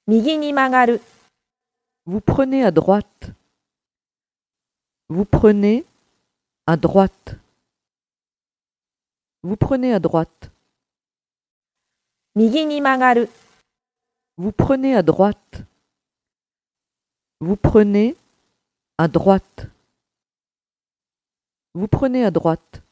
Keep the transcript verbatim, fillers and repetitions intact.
右に曲がる。 Vous prenez à droite. Vous prenez à droite. Vous prenez à droite. 右に曲がる。 Vous prenez à droite. Vous prenez à droite. Vous prenez à droite.